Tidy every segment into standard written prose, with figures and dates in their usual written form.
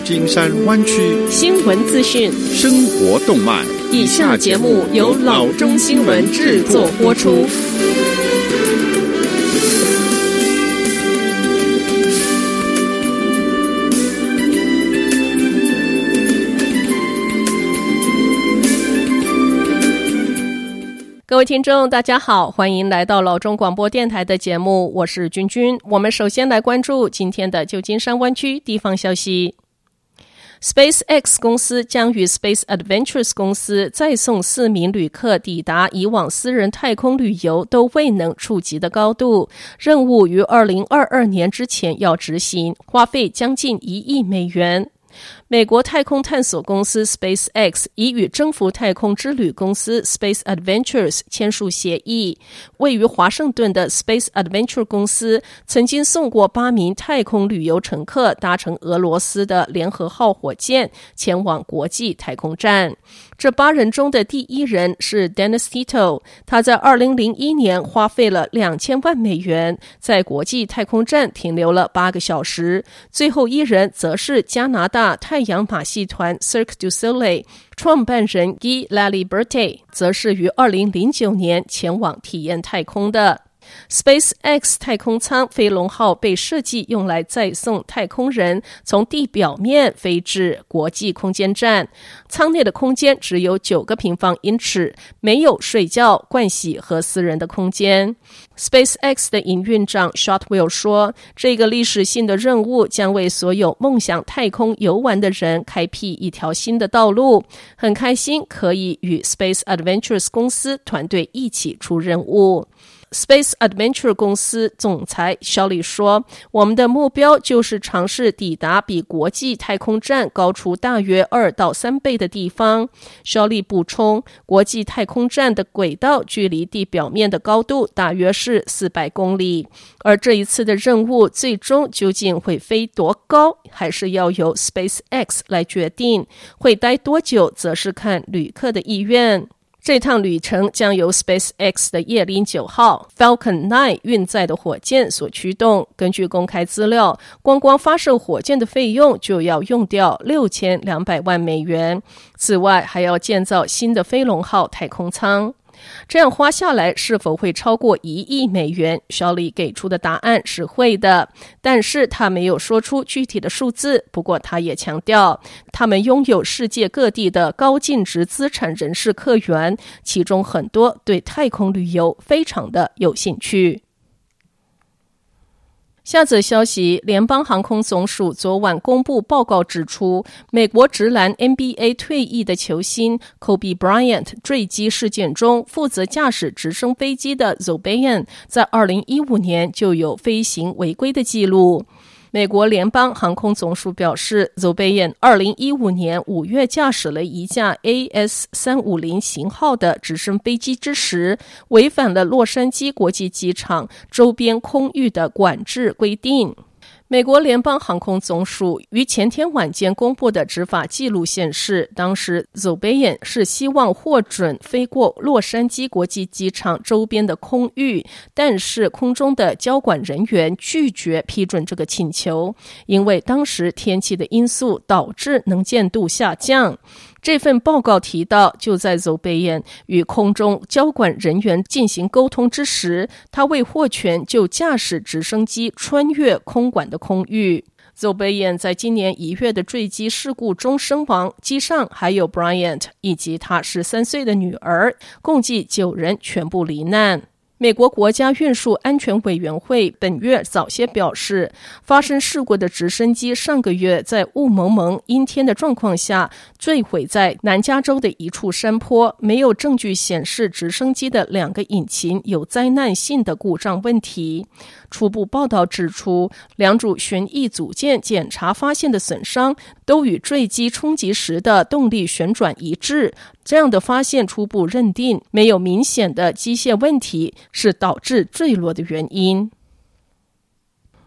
金山灣區新聞資訊、 生活動脈。 以下節目由老中新聞製作播出。各位聽眾大家好，歡迎來到老中廣播電臺的節目，我是君君。我們首先來關注今天的舊金山灣區地方消息。SpaceX 公司將與 Space Adventures 公司再送4名旅客抵達以往私人太空旅遊都未能觸及的高度，任務於2022年之前要執行，花費將近1億美元。美國太空探索公司 SpaceX 已與征服太空之旅公司 Space Adventures 簽署協議。位於華盛頓的 Space Adventure 公司曾經送過8名太空旅遊乘客搭乘俄羅斯的聯合號火箭前往國際太空站。這8人中的第1人是 Dennis Tito， 他在2001年花費了2000萬美元，在國際太空站停留了8個小時。最後1人則是加拿大太陽馬戲團 Cirque du Soleil 創辦人 Guy Laliberté， 則是於2009年前往體驗太空的。SpaceX 太空艙飛龍號被設計用來載送太空人從地表面飛至國際空間站，艙內的空間只有9個平方英尺，沒有睡覺、盥洗和私人的空間。SpaceX 的營運長 Shotwell 說，這個歷史性的任務將為所有夢想太空遊玩的人開闢一條新的道路，很開心可以與 Space Adventures 公司團隊一起出任務。Space Adventure 公司總裁肖利說，我們的目標就是嘗試抵達比國際太空站高出大約2到3倍的地方。肖利補充，國際太空站的軌道距離地表面的高度大約是400公里，而這一次的任務最終究竟會飛多高，還是要由 SpaceX 來決定，會待多久則是看旅客的意願。這趟旅程將由 SpaceX 的葉林9號 Falcon 9運載的火箭所驅動。根據公開資料，光發射火箭的費用就要用掉6200萬美元。此外，還要建造新的飛龍號太空艙。這樣花下來是否會超過1億美元？肖利給出的答案是會的，但是他沒有說出具體的數字。不過他也強調，他們擁有世界各地的高淨值資產人士客源，其中很多對太空旅遊非常的有興趣。下則消息，聯邦航空總署昨晚公布報告指出，美國職籃 NBA 退役的球星 Kobe Bryant 墜機事件中，負責駕駛直升飛機的 Zobayan 在2015年就有飛行違規的記錄。美國聯邦航空總署表示， Zobayan 2015年5月駕駛了一架 AS350 型號的直升飛機之時，違反了洛杉磯國際機場周邊空域的管制規定。美國聯邦航空總署於前天晚間公布的執法記錄顯示，當時 Zobayan 是希望獲准飛過洛杉磯國際機場周邊的空域，但是空中的交管人員拒絕批准這個請求，因為當時天氣的因素導致能見度下降。這份報告提到，就在 Zobayan 與空中交管人員進行溝通之時，他未獲權就駕駛直升機穿越空管的空域。Zobayan 在今年1月的墜機事故中身亡，機上還有 Bryant 以及他13歲的女兒，共計9人全部罹難。美國國家運輸安全委員會本月早些表示，發生事故的直升機上個月在霧蒙蒙陰天的狀況下墜毀在南加州的一處山坡，沒有證據顯示直升機的2個引擎有災難性的故障問題。初步報道指出，2組旋翼組件檢查發現的損傷都與墜機衝擊時的動力旋轉一致，這樣的發現初步認定沒有明顯的機械問題是導致墜落的原因。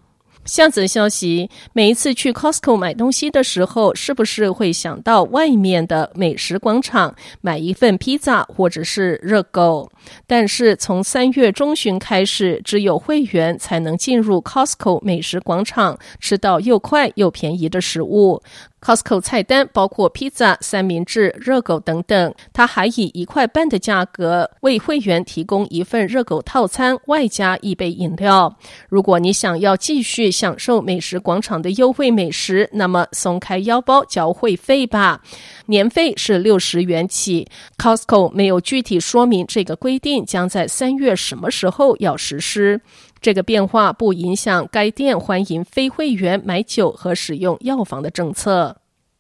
下則消息，每一次去 Costco 買東西的時候，是不是會想到外面的美食廣場買一份披薩或者是熱狗？但是從3月中旬開始，只有會員才能進入 Costco 美食廣場，吃到又快又便宜的食物。Costco 菜單包括披薩、三明治、熱狗等等，它還以1塊半的價格為會員提供一份熱狗套餐，外加一杯飲料。如果你想要繼續享受美食廣場的優惠美食，那麼鬆開腰包繳會費吧。年費是60元起。Costco 沒有具體說明這個規定將在3月什麼時候要實施。這個變化不影響該店歡迎非會員買酒和使用藥房的政策。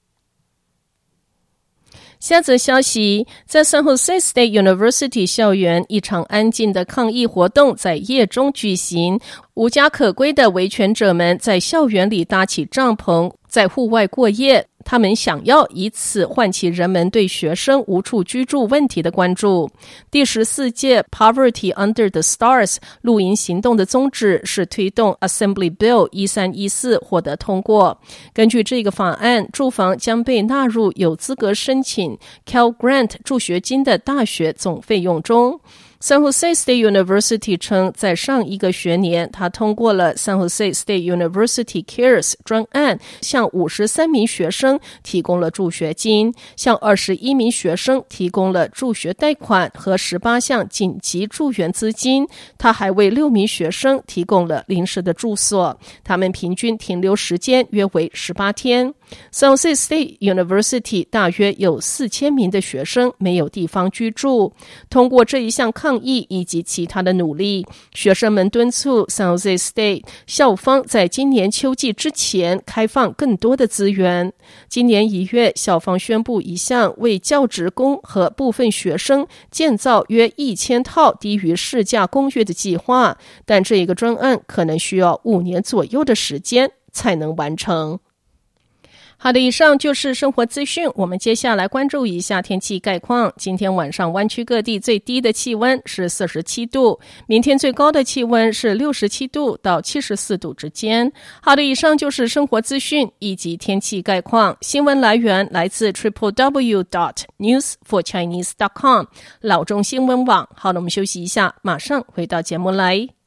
下則消息，在 San Jose State University 校園，一場安靜的抗議活動在夜中舉行。無家可歸的維權者們在校園裡搭起帳篷，在戶外過夜。他們想要以此喚起人們對學生無處居住問題的關注。第14屆 Poverty Under the Stars 露營行動的宗旨是推動 Assembly Bill 1314獲得通過。根據這個法案，住房將被納入有資格申請 Cal Grant 助學金的大學總費用中。San Jose State University 稱，在上一個學年，他通過了 San Jose State University Cares 專案，向53名學生提供了助學金，向21名學生提供了助學貸款和18項緊急助援資金。他還為6名學生提供了臨時的住所，他們平均停留時間約為18天。San Jose State University 大約有4000名的學生沒有地方居住。通過這一項抗議以及其他的努力，學生們敦促 San Jose State 校方在今年秋季之前開放更多的資源。今年1月，校方宣布一項為教職工和部分學生建造約1000套低於市價公寓的計劃，但這個專案可能需要5年左右的時間才能完成。好的，以上就是生活資訊。我們接下來關注一下天氣概況。今天晚上灣區各地最低的氣溫是47度，明天最高的氣溫是67度到74度之間。好的，以上就是生活資訊以及天氣概況。新聞來源來自 www.newsforchinese.com 老中新聞網。好的，我們休息一下，馬上回到節目來。